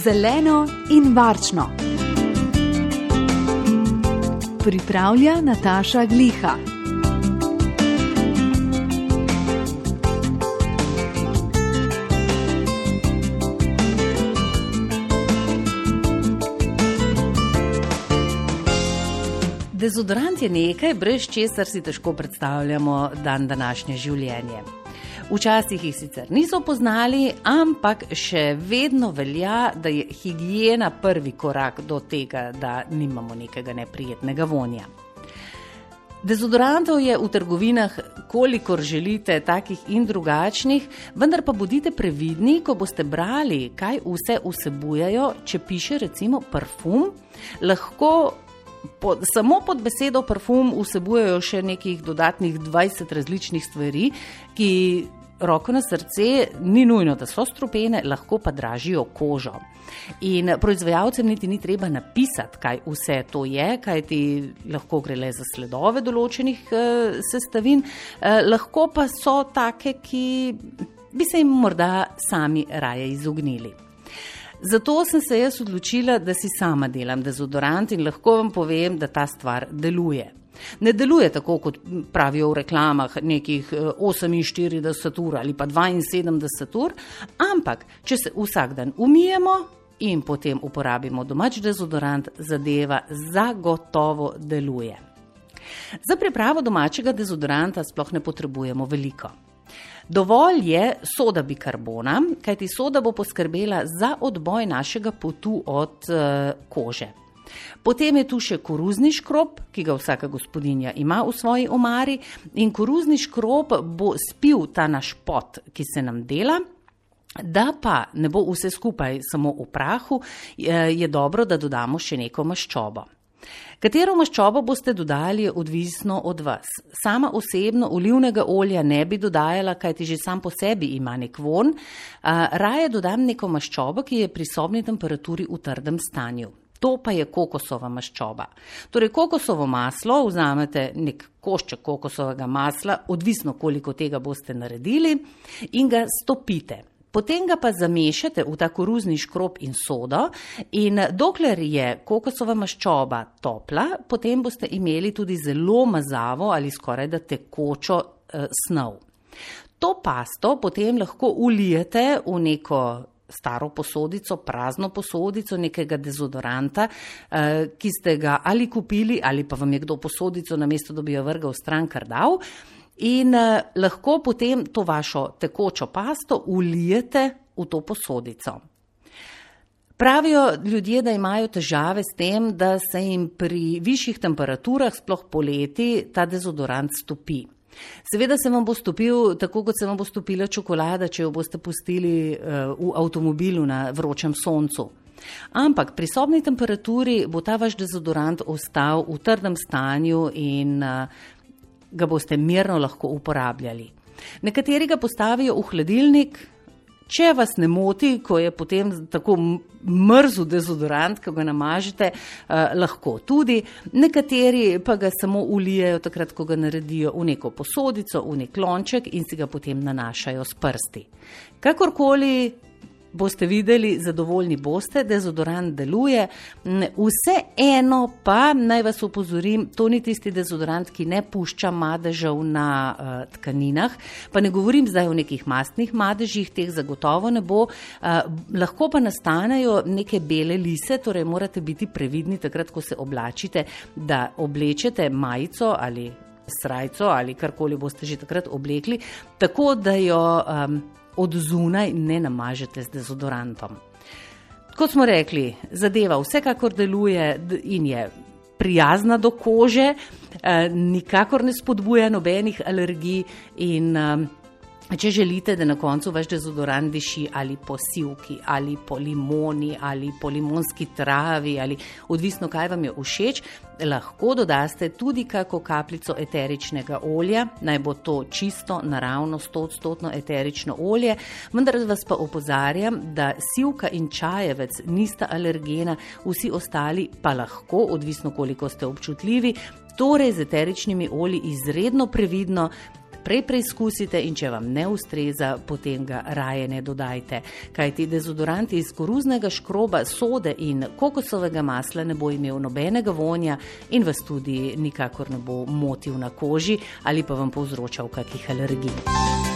Zeleno in varčno. Pripravlja Nataša Gliha. Dezodorant je nekaj, brez česar si težko predstavljamo današnje življenje. Včasih jih sicer niso poznali, ampak še vedno velja, da je higiena prvi korak do tega, da nimamo nekega neprijetnega vonja. Dezodorantov je v trgovinah, kolikor želite, takih in drugačnih, vendar pa bodite previdni, ko boste brali, kaj vse vsebujejo. Če piše recimo parfum, lahko samo pod besedo parfum vsebujejo še nekih dodatnih 20 različnih stvari, ki, roko na srce, ni nujno, da so strupene, lahko pa dražijo kožo. In proizvajalcem niti ni treba napisati, kaj vse to je, kajti lahko gre le za sledove določenih sestavin, lahko pa so take, ki bi se jim morda sami raje izognili. Zato sem se jaz odločila, da si sama delam dezodorant in lahko vam povem, da ta stvar deluje. Ne deluje tako, kot pravijo v reklamah, nekih 48 ur ali pa 72 ur, ampak če se vsak dan umijemo in potem uporabimo domač dezodorant, zadeva zagotovo deluje. Za pripravo domačega dezodoranta sploh ne potrebujemo veliko. Dovolj je soda bikarbona, kajti soda bo poskrbela za odboj našega potu od kože. Potem je tu še koruzni škrob, ki ga vsaka gospodinja ima v svoji omari, in koruzni škrob bo spil ta naš pot, ki se nam dela. Da pa ne bo vse skupaj samo v prahu, je dobro, da dodamo še neko maščobo. Katero maščobo boste dodali, je odvisno od vas. Sama osebno olivnega olja ne bi dodajala, kajti že sam po sebi ima nek vonj. Raje dodam neko maščobo, ki je pri sobni temperaturi v trdem stanju. To pa je kokosova maščoba. Torej, kokosovo maslo, vzamete nek košček kokosovega masla, odvisno koliko tega boste naredili, in ga stopite. Potem ga pa zamešate v ta koruzni škrob in sodo, in dokler je kokosova maščoba topla, potem boste imeli tudi zelo mazavo ali skoraj da tekočo snov. To pasto potem lahko ulijete v neko staro posodico, prazno posodico nekega dezodoranta, ki ste ga ali kupili ali pa vam je kdo posodico, namesto da bi jo vrgal stran, kar dal. In lahko potem to vašo tekočo pasto ulijete v to posodico. Pravijo ljudje, da imajo težave s tem, da se jim pri višjih temperaturah, sploh poleti, ta dezodorant stopi. Seveda se vam bo stopil, tako kot se vam bo stopila čokolada, če jo boste pustili v avtomobilu na vročem soncu. Ampak pri sobni temperaturi bo ta vaš dezodorant ostal v trdem stanju in ga boste mirno lahko uporabljali. Nekateri ga postavijo v hladilnik, če vas ne moti, ko je potem tako mrzel dezodorant, ko ga namažete, lahko tudi. Nekateri pa ga samo ulijejo takrat, ko ga naredijo v neko posodico, v nek lonček in si ga potem nanašajo s prsti. Kakorkoli boste videli, zadovoljni boste, dezodorant deluje. Vseeno pa, naj vas opozorim, to ni tisti dezodorant, ki ne pušča madežev na tkaninah, pa ne govorim zdaj o nekih mastnih madežih, teh zagotovo ne bo, lahko pa nastanejo neke bele lise, torej morate biti previdni takrat, ko se oblačite, da oblečete majico ali srajco ali karkoli boste že takrat oblekli, tako da jo od zunaj ne namažete z dezodorantom. Kot smo rekli, zadeva vsekakor deluje in je prijazna do kože, nikakor ne spodbuja nobenih alergij in če želite, da na koncu vaš dezodorant diši ali po sivki, ali po limoni, ali po limonski travi, ali odvisno, kaj vam je všeč, lahko dodaste tudi kako kapljico eteričnega olja, naj bo to čisto, naravno, 100% eterično olje, vendar vas pa opozarjam, da sivka in čajevec nista alergena, vsi ostali pa lahko, odvisno koliko ste občutljivi, torej z eteričnimi olji izredno previdno. Prej preizkusite in če vam ne ustreza, potem ga raje ne dodajte. Kajti dezodoranti iz koruznega škroba, sode in kokosovega masla ne bo imel nobenega vonja in vas tudi nikakor ne bo motil na koži ali pa vam povzročal kakih alergij.